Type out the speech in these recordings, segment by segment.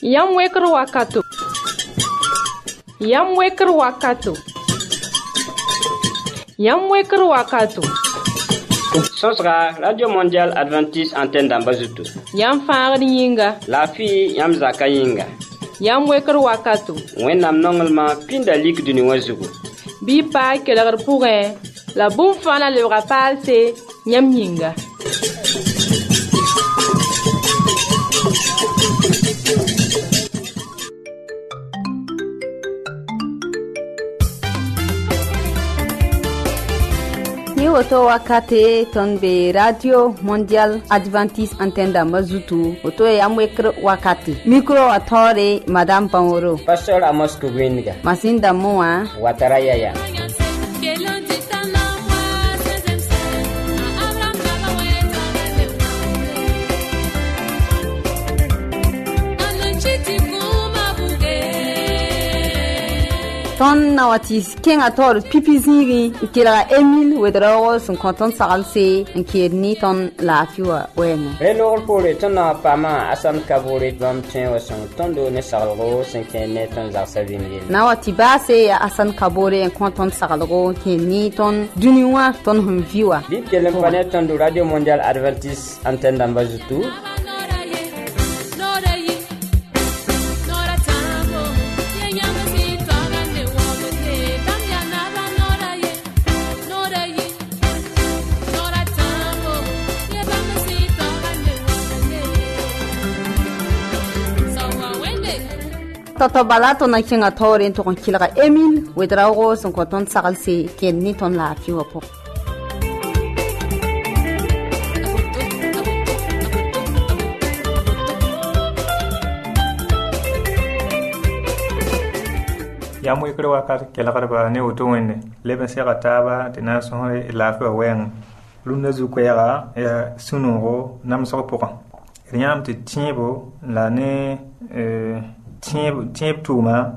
Yam Weker Wakato. Yam Weker Wakato. Yam Weker Wakato. Sosra Radio Mondial Adventiste Antenne d'Ambazutu. Yam Fagri Yinga. La fille Yam Zaka Yinga. Yam Weker Wakato. Wennam normalement pinda lik du Niwazugu. Bi pa keler pourrait. La boum fana le rapal c'est Yam Yinga. Oto wakate tonbe Radio Mondial Adventiste Antenne d'Ambazutu. Oto yamwekr wakati. Micro atore Madame Pangoro. Pastor Amos Kubinga. Masinda moa. Wataraya. Ton nawati kenga tor pipiziri kila Emile Wedro son content salse nkirni ton la fiwa wenga Relor pour le ton pama asan kabore bam tien son tondo ne salro 5 net ton zarsavimil nawati base ya asan kabore en content salro kini ton duniwa ton humviwa dit que le planète ton Radio Mondial Adventiste Antenne d'Ambazutu. Toto balato na kinga tore to kon kilga Emile Wedrago son content salse kini ton la fiwa po Yam Weker Wakato kelgarba ne woto wende leben sega taba de na son la fiwa wen lunda zu kwera ya sunoro nam so poka riam te tiebo la ne tieb tuma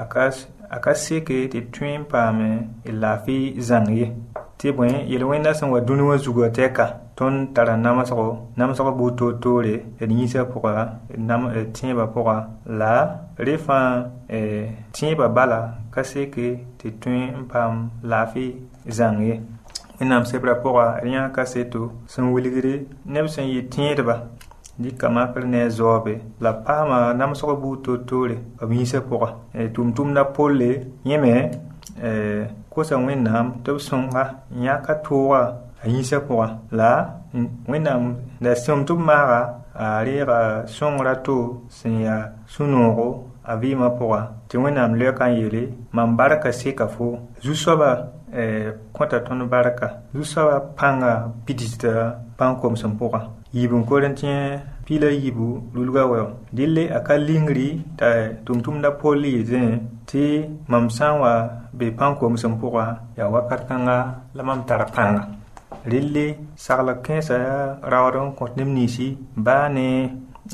akaseke te twin pame la fi zangi te bwen yelwenda san wa dunu zugo teka ton tara namso buto tore nisa poka nam tieba poka la refa tieba bala kaseke te twin pam la fi zangi enam sebra poka rien kaseto san wiligre nebsan yi tieba di kama ne zobe la pama nam so buto tore amisa poka tum na pole yeme ko sa wenam to songa nyaka towa ayisa poka la wenam la tum mara arira songra to sinya sunoro avima poka ti wenam le kan yele man baraka seka fo zusoba konta ton baraka zusoba panga bidista pankom sampoka yibun korentien pila yibu lulga wa dille akalingri ta tumtum da poli zen ti mamsanwa be panko musampura ya wakartanga lamam tarapanga lille sagla kensa rawron kontnemnisi bane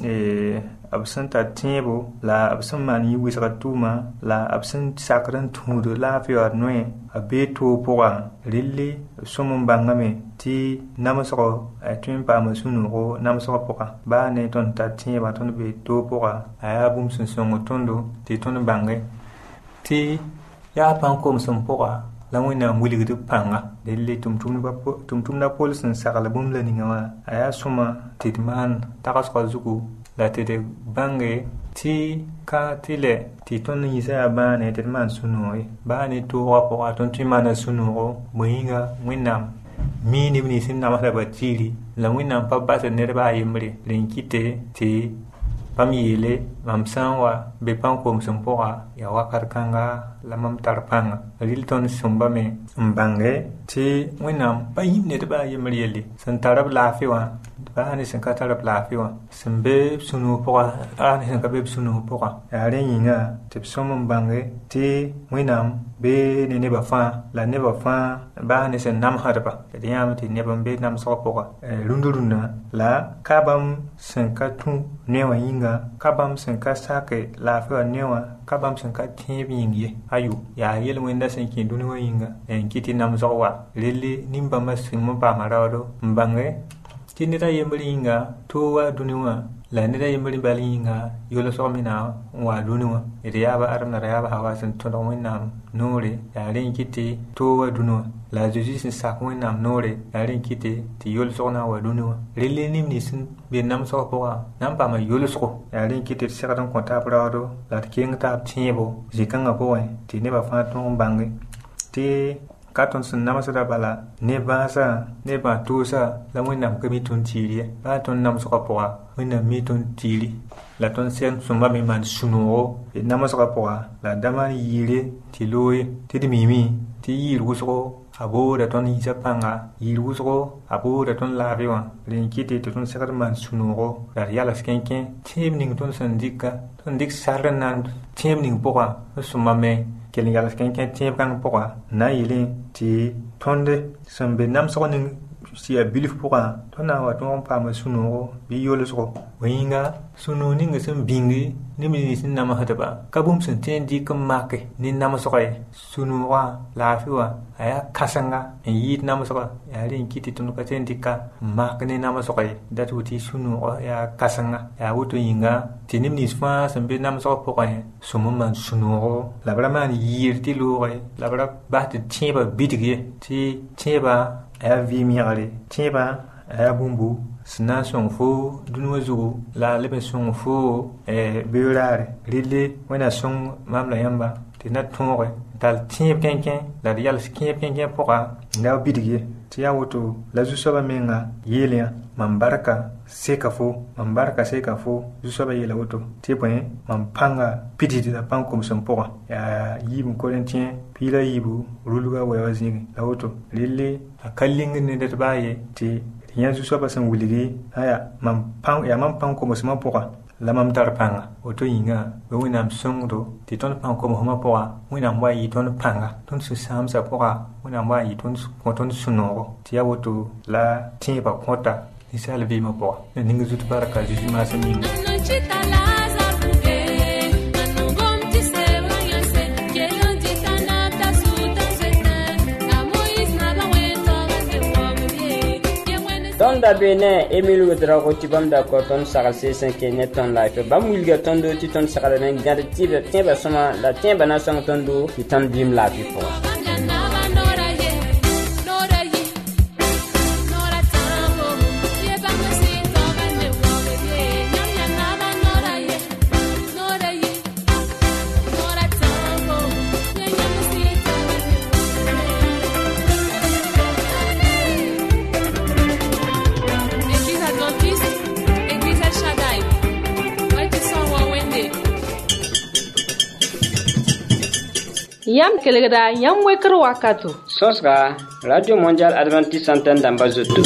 absenta tiebo la absman yi wisratuma la absent sakran tudo la fior noe abeto poa lille somon bangame ti namso atun pa masunu namso poa ba ne ton ta tieba ton be to poa aya bum sun tondo ti ton bangai ti ya pankom sun poa la wina muligdu panga lille tumtum na polsun sakala bum la ningawa aya soma tidman takas ko zuku la tete bange ti ka tile ti ton yisa bane te man sunoi bane to wapo aton ti mana sunoro moinga winam mi ni sin na mala batili la winam pa ba se ne ba yimri linkite ti pamiyele mamsanwa be pankom sumpora ya wakarkanga la mam tarpanga rilton sumbame mbange ti winam pa yimne de ba yimri yeli san tarab lafiwa ba ni san ka tarab lafiwa sembe sunu pora ani san ka be sunu pora ya re yinga ti somon bange ti winam be ne ba fa la ne ba fa ba ni san nam harba de yam ti ne bambe nam so pora lunduruna la kabam san ka tu ne wa yinga kabam san ka sake lafiwa ne wa kabam san ka tibi yingi ayu ya yel wenda san ki dunu wa yinga en kiti nam so wa lele nimba masin mo ba marado mbange tinira yemringa to wa duniwa la neda yembri balinga yolo so mina wa dunwa ida ba arna ya ba hawa san to don wannan nore ya rin kiti to wa dunwa la jesu sin sa ko wannan nore ya rin kiti ti yolo so na wa dunwa rele nim ni sin be nam so ko nam pa ma yolo so ya rin kiti se ka don konta brado la king ta tiebo jikanga ko ti ne ba fa ton bangi ti katon sun nama sada bala ne ba sa ne ba to sa la mo nam kami ton tiri ba ton nam so ko wina mi ton tiri la ton sen sumba mi man sunuo e nama so ko la dama yire ti loye ti mimi ti yiru so abo da ton isa panga yiru so abo da ton la riwa len kiti ton sakar man sunuo la yala skenken tim ning ton sandika ton dik sarnan tim ning poa sumba me kelen yala skenken tim kan poa na yile ti tonde sambe nam so ning si a bilif poa tona wa ton pa ma sunuo bi yolo so winga sunu ning sem bingi ni mi sin nama hadaba kabum sen tendi kam make ni nama so kay sunu wa la fi wa aya kasanga en yi nama so ya rin kiti tun ka tendi ka mak ni nama so kay datu ti sunu ya kasanga ya wuto yinga tinim ni sfa sembe nama so poa sumu man sunu la braman yirti lo la bra ba ti tiba bidige ti tiba aya vi miare tiba aya bumbu sina son fo dunwa zugo la lebe son fo beurare rille wena son mamla yamba tina tonre dal tiep kenken la yal skien kenken poka na bidige tia woto la jusaba menga yelia mambarka seka fo jusaba yela woto tipwen mampanga pididi da pankom son poka ya yibum korentien pila yibu ruluga wayazingi la woto rille akalling ne det baye ti yan su soba san wuligi aya mam pang ko mosma poka la mam tar panga oto yinga we winam songdo ti ton pang ko mo poka winam wa yi ton panga ton su sam sa poka winam wa yi ton ko ton suno ti ya woto la tin ba kota ni sala bi ma poka ni ngi zut baraka ji ma san yinga ton da bene Emile Wodra ko tibam da ko ton sagal se 5 net ton life bam wilga ton do ti ton sagal na ngade tibe tiba sama la tiba na sang ton do ti ton dim la fi fo Yam kelegda yam wekr wakato. Sosga Radio Mondial Adventist Antenne d'Ambazoto.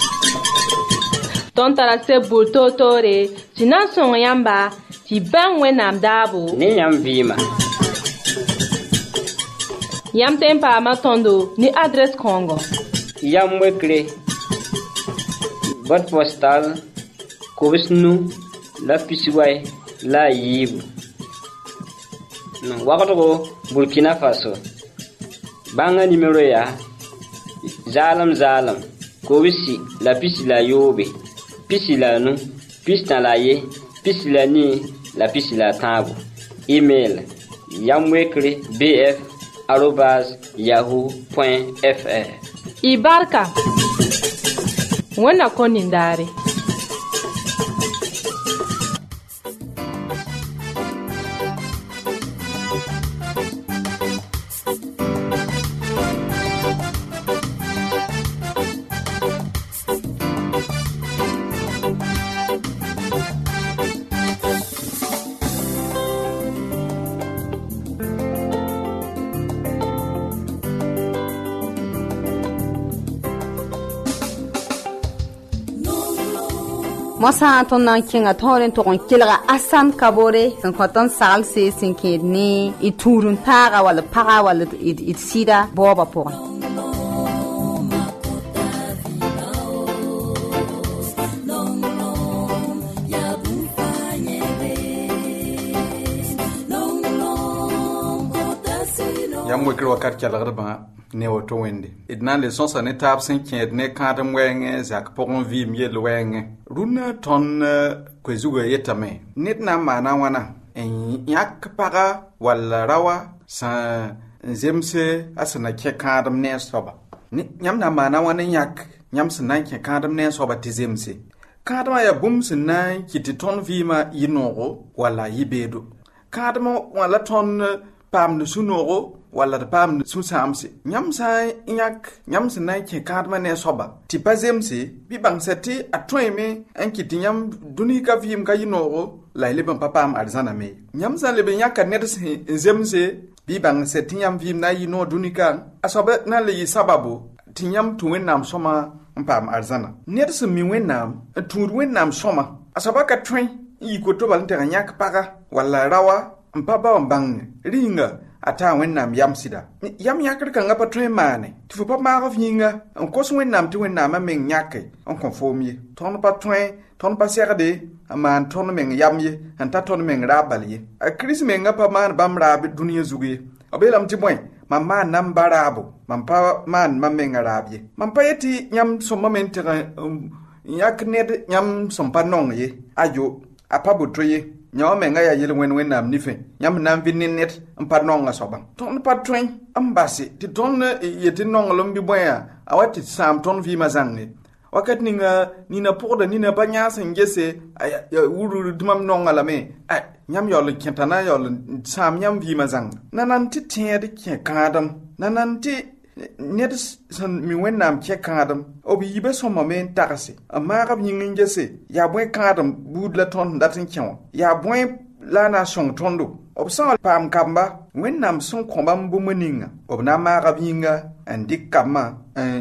Ton tarase bulto tore, sinan son yamba, ti ban wenam dabo. Ni yam vima. Yam tempa matondo ni adresse Congo. Yam wekre. Boîte postale Kobisnu la Pisiway la Yib. Wakato Burkina Faso. Banga numéro ya Zalam Kobisi la pisi la Yobe. Pisi la nu, pisi na la ye, pisi la ni, la pisi la tabu. Email yamwekre@yahoo.fr. Ibarka. Wana konindare. Mosa ton nan kinga toren to kon kilga asan kabore san koton sal se sin ni iturun taga wala paga wala it sida boba po yam wekr wakat kelgr ba ne woto wende idna le sonsa ne tab sen ked ne kadam wenge zak pokon vi miel wenge runa ton kwezuga yetame nit na mana wana en yak paga wala rawa sa zemse asana ke kadam ne soba nyam na mana wana yak nyam sna ke kadam ne soba tizemse kadama ya bum sna kiti ton vi ma yinogo wala yibedo kadama wala ton pam de sunoro wala de pam su samse nyam sai yak nyam sinai ke kadma ne soba ti pazemse bi bangsati atweme an kiti nyam duni ka vim ka yinoro la leben papam arzana me nyam sa leben yakka ne zemse bi bangsati nyam vim na yino duni ka asoba na le sababu ti nyam tuwen nam soma pam arzana ne mi wenam tur wenam soma asoba ka twen yi ko to balante nyak paga wala rawa mpaba mbang ringa ata wennam yamsida yam yakr kan ngapa tremane tifu pa ma gofnyinga on kos wennam ti wennam men nyake on konformie ton pa twen ton pa serde aman ton men yamye anta ton men rabalye a kris men ngapa man bam rabi duniya zugi obelam ti boy mamma nam barabo mampa man mamen arabye mampa yeti nyam somma men tera yak ned nyam sompa nongye ayo apabu troye nyaw me nga ya yele wen nam nife nyam nam vinin net ampa nonga soba ton patwen ambasi ti ton yeti nongolom bi boya awati sam ton vi mazangne wakat nina poda nina banya sengese ya wuru dumam nongala me ay nyam yol kentana yol sam nyam vi mazang nanan ti tiede ke kadam nanan ti net san mi wennam ke kadam obi yibe somma men takasi amma gab yingin jese ya boy kadam budla ton datin kyon ya boy la na song tondo obsan pam kamba wennam son kombam bu meninga obna ma gab yinga andi kama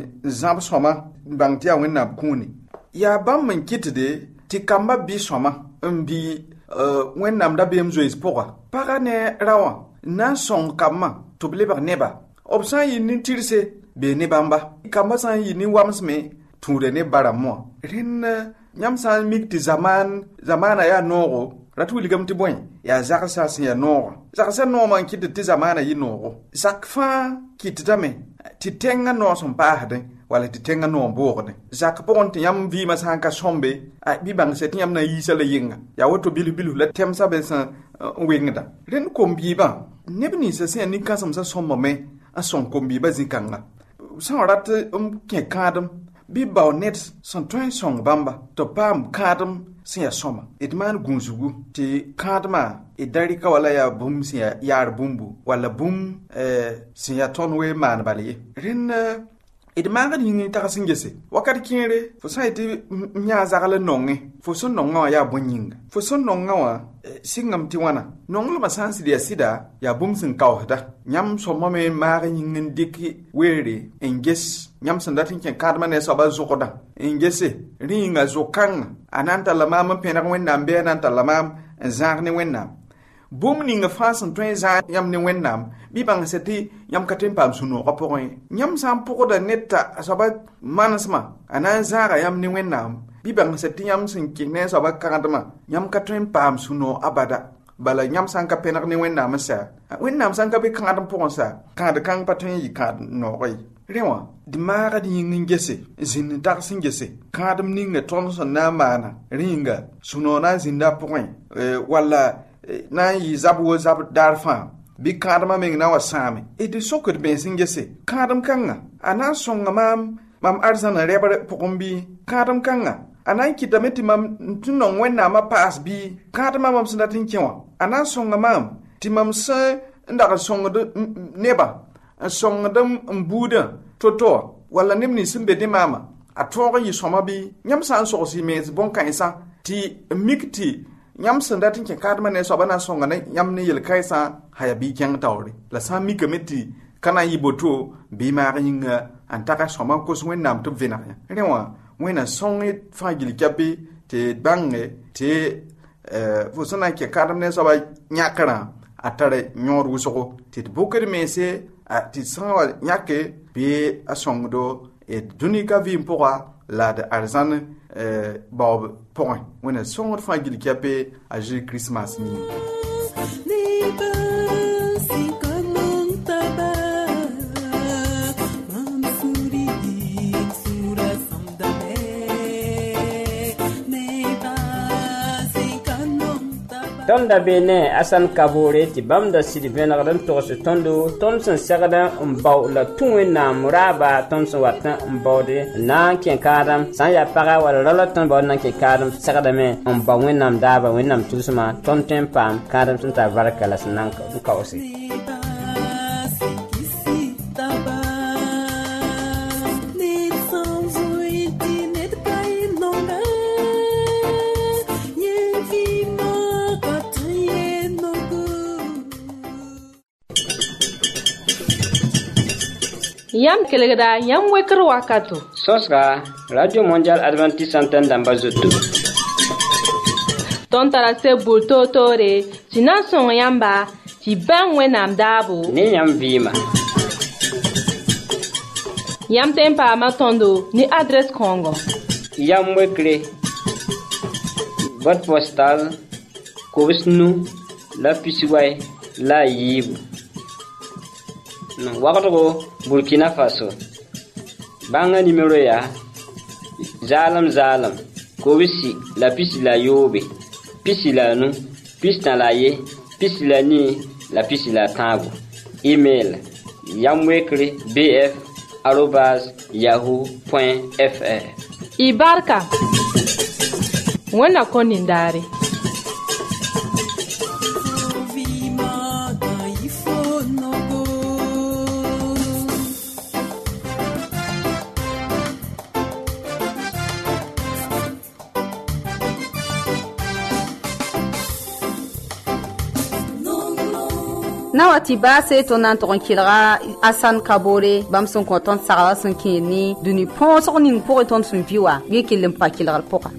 zab soma bangtia wennam kuni ya bam men kitide ti kamba bi soma mbi wennam da bem zo ispoka para ne rawa na song kama to bleba neba obsan yi ni tirse be ne bamba kamba san yi ni wamsme ture ne baramo rin nyam san mikti zamana ya nogo ratu ligam ti boy ya zakasa sin ya nogo zakasa no man kiti ti zamana yi nogo zakfa kititame ti tenga no son bahde wala ti tenga no borde zak pon ti yam vi masanka sombe a bi bang set yam na yi sala yinga ya woto bilu la temsa be san wingda rin kombi ba nebni sa sen ni kasam sa somma me a son kombi ba zikanga san rat ke kadam bi bawnet son toy song bamba to pam kadam sin soma idman gunzugu ti kadma idari ka wala ya bum sin yar bumbu wala bum sin ya tonwe man bali rin idman ga ni ta kasingese wakati kire fo saiti nya zagala nonge fo son nonga ya bonyinga fo son nonga wa singam ti wana nonglo masansi dia sida ya bum sin kawhda nyam so mame maga nyingen diki were enges nyam sandatin ken kadma ne so ba zokoda engese ringa zokang ananta lamam pena wennam be ananta lamam zagne wennam bum ninga fasan twen za yam ne wennam bi bang seti yam katem pam suno ko poin nyam sam pokoda netta asaba manasma anan zaga yam ne wennam bi bang seti yam sin kinne so ba kadma yam katem pam suno abada bala nyam san ka penak ne wennam sa wennam san ka bi kadam pon sa kad kan patwen yi kad no oi rewa di maga di yingin gese zin dar sin gese kadam ninga ton so na mana ringa suno na zinda poin wala na yi zabu darfa bi kadama men na wasame edi sokot ben singese kadam kanga ana songa mam arzana rebar pokombi kadam kanga ana kitameti mam tunon wenna ma pass bi kadama mam sundatin kewa ana songa mam timam sa ndaka songa de neba songa dam mbuda toto wala nimni simbe de mama atora yi soma bi nyam san so si mes bon kansa ti mikti nyam sandatin ke kadma ne so bana songa ne nyam ne yel kaisa haya bi kyang tawri la sami committee kana yiboto bi ma ringa antaka soma ko so nam to vena rewa wena songi fagili kapi te bange te fo sona ke kadma ne so ba nyakara atare nyor wusoko te bokere mese ti sawa nyake bi asongdo e dunika vi mpora la de arzan bob point when a song of fagil kiape a Jésus Christmas ni tonda bene asan kabore ti bamda sidi venadan to se tondo tonsen sagada mbaw la tuwe na muraba tonsen watan mbawde na ken kadam san ya paga wala lala ton baw na ken kadam sagada me mbaw wenam daba wenam tusma tonten pam kadam tunta barakala sanan ka osi Yam kelegda yam wekr wakato. Sosra Radio Mondial Adventiste Antenne d'Ambazoto. Ton tarase bulto tore, tina son yamba, ti ben wenam dabo. Ni yam vima. Yam tempa matondo ni adresse Congo. Yam wekre. Boîte postale Kovisnu la Pisiway la Yibu. Wakato Burkina Faso. Banga numéro ya Zalam Kovisi la pisi la Yobe. Pisi la nu, pisi la ye, pisi la ni, la pisi la tango. Email yamwekre bf@yahoo.fr. Ibarka. Wana konindari. Nawati ba se to nan to kilra asan kabore bam son ko ton sara son kini duni pon so ning po ton sun viwa ye kilim pa kilra poka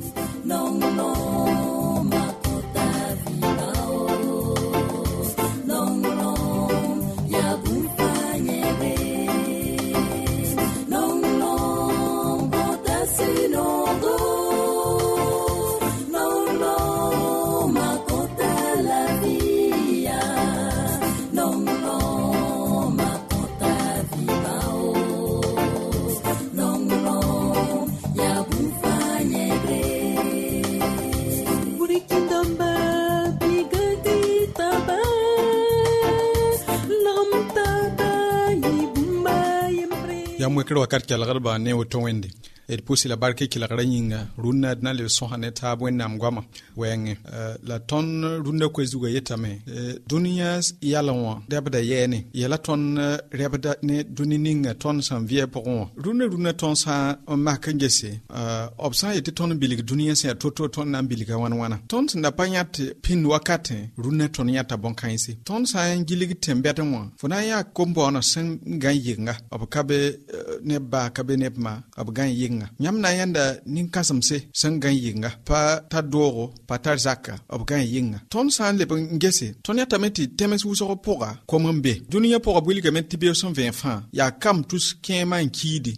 yamwe kro wakat kala garba ne woto wende et pousse la barke ki la ranyinga runna na le sohane ta bwenam gwama wenge la ton runna ko zuga yetame dunia yalwa debda yene yala ton rebda ne dunininga ton san vie pour runna ton sa makangese opsa yete ton bilig dunia se toto ton na biliga wana ton na panyat pin wakate runna ton yata bonkaisi ton sa ngilig tembeta mo fona ya kombo na san ganyinga obkabe ne ba kabe ne ma abgan yinga nyamna yanda nin kasamse sangan yinga pa ta doro pa ta zaka abgan yinga ton san le ngese ton ya tameti temes wuso poga komambe dunia poga buli gamet tibio 120 francs ya kam tous kema nkidi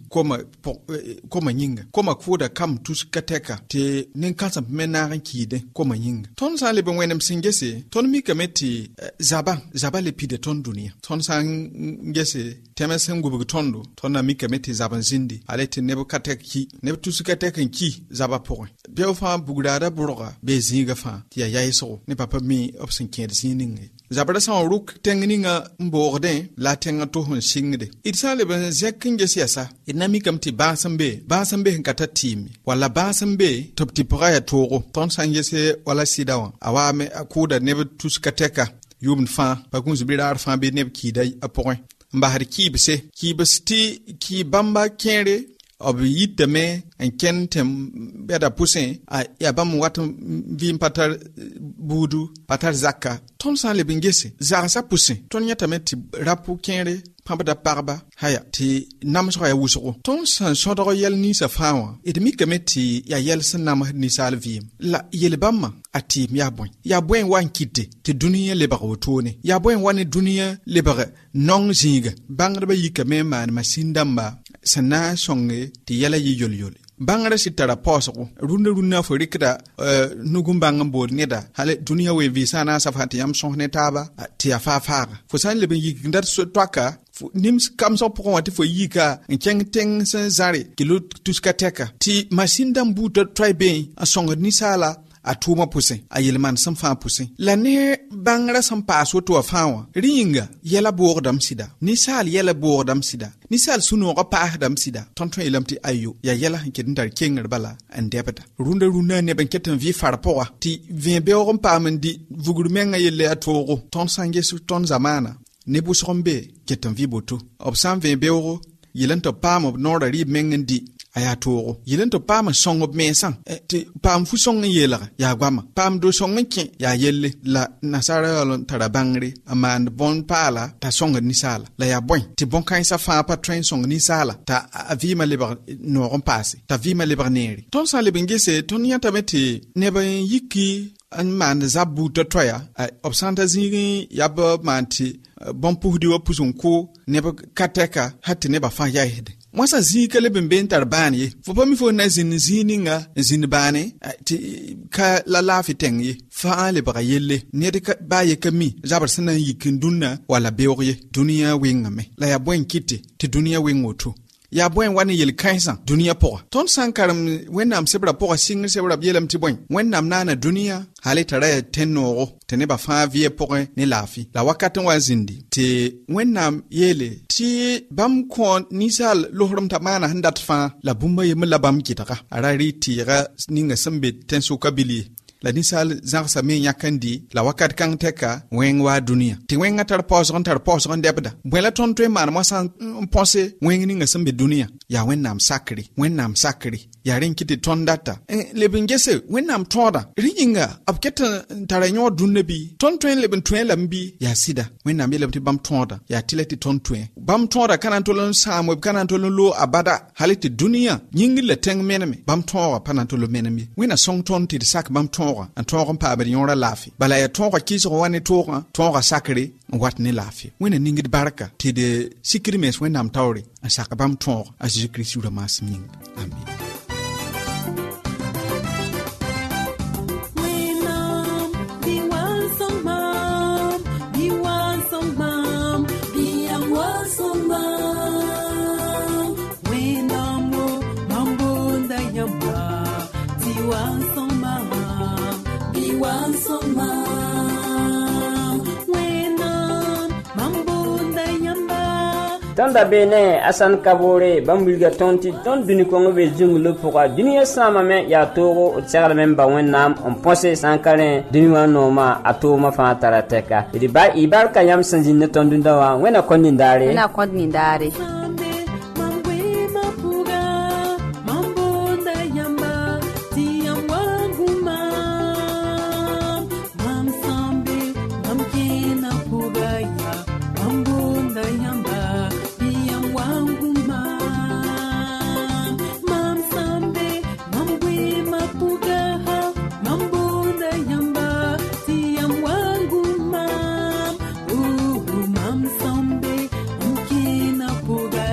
koma yinga koma kuda kam tous kateka te nin kasam menaran kide koma yinga ton san le wenem singese ton mi gameti zaba le pide ton dunia ton san ngese temes ngubu tondo ton na mi kameti zaban zindi alete nebo kateki nebo tusukateka ki zaba point beo fa bugdada burga be zinga fa ya yaiso ne papa mi opsin ked zininge zabada sa ruk tengninga mborde la tenga to hon singde itsale ben zekinge siasa inami kamti basambe nkata timi wala basambe topti ya toro ton sangese wala sidawa awame akuda nebo tusukateka yum fa bakunzu bidar fa be neb kidai a point mbahar kibsti ki bamba kere obi yitame en kentem beda pousin a ya bam wat vim patar budu patar zakka ton san le bingese zara sa pousin ton yatame ti rapu kere pambada parba haya ti namso ya wuso ton san sodoro yel ni sa fawa edmi kameti ya yel san nam ni salvim la yel bamma ati ya boy wan kite ti duniya le bago tone ya boy wan duniya le baga non zinga bangraba yikame man masindamba sana songe ti yala yi yol bangara sitara posoko runda forikda nugumbanga bol neda hale duniya we visa na safati yam sonne taba ti afafa fo san le ben yikndar so twaka nims kam so pokon wati fo yika nkeng teng san zare kilo tuskateka ti masindambu to tribe a songa ni sala a tuma puse a yelman san fa puse la ne bangra san paso to fawa ringa yela bordam sida nisal yela bordam sida nisal suno ga pa dam sida tonton ilamti ayo ya yela hankin dar kengar bala an debata runda ne ban ketan vi farpoa ti vembe o pa mandi vugurmenga yele atoro ton sange su ton zamana ne busrombe ketan vi boto obsam vembe o yelan to pam ob nora ri mengendi aya toro yelen to pam song ob mesan ti pam fu song yela ya gwama pam do song nke ya yelle la nasara lon tarabangri amand bon pala ta song ni sala la ya boy ti bon kan sa fa pa train song ni sala ta avima liber no ron passe ta vima liber neri ton sa libengese ton yata meti ne ba yiki an man zabu to toya obsanta zini yaba manti bon puhdi wa pusunko ne ba kateka hatti ne ba fa ya hede mwasa zikale bemben tarbani ye fo pa mi fo na zini nga zini bane ti ka la lafi tengi fa le ba yelle ne de ka ba ye kami jabar sana yikin dunna wala bewye duniya wengame la ya bwen kite ti duniya wengoto ya bwen wani yel kaisa duniya poa ton sankaram wenam sebra poa singir sebra yelam ti bwen wenam nana duniya hali tare tenoro tene ba fa vie poa ni lafi la wakatin wa zindi te wenam yele ti bam ko nisal lohrum tamana handat fa la bumba yemla bam kitaka arari tira ninga sambe tensu kabili la nisal zarsa me yakandi la wakat kan teka wengwa dunia ti wenga tar posron debda bwela ton twe man mo san pense wengi nga sambe dunia ya wennam sakri ya renkiti ton data lebingese wennam toda ringa abketa taranyo dunnebi ton twen leben twen lambi ya sida wennam yelebti bam toda ya tileti ton twen bam toda kanantolon samo kanantolon lo abada haliti dunia nyingi le teng meneme bam toda panantolo meneme wena song ton ti sak bam toda an toga pa ba yora lafi bala ya toga kiso wani toga sakri wat ne lafi wena ningid baraka ti de sikri mes wenam tawri an sakabam toga a Jésus Christ ura masming amen. Tanda bene asan kabore bambulga tonti ton duni kongo be junglo pourquoi dunia sama men ya toro tsara men ba wennam on pense sankaren dunia noma atoma fa tarateka idi ba ibar kayam sanjine ton dundawa wena kondindare Puga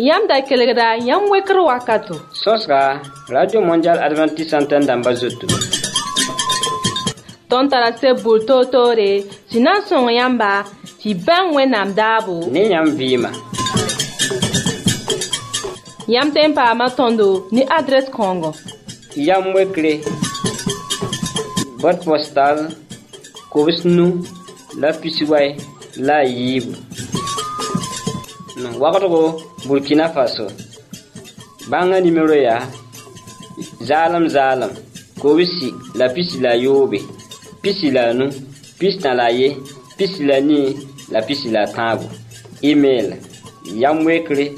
Yam da kelgda yam wekr wakato. Sosra Radio Mondial Adventiste Antenne d'Ambazoto. Ton tarase bulto tore, sinan son yamba, ti ben wenam dabo. Ni yam vima. Yam tempa matondo ni adresse Congo. Yam wekre. Boîte postale. Kobisnu. La pisiway. La yibu. Wakato Burkina Faso. Banga numéro ya. Zalam. Kobisi. La pisi la yobe. Pisi la nu. Pisi na la ye. Pisi la ni. La pisi la tango. Email. Yamwekre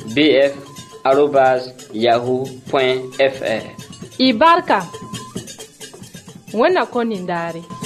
bf@yahoo.fr. Ibarka. Wena konindari.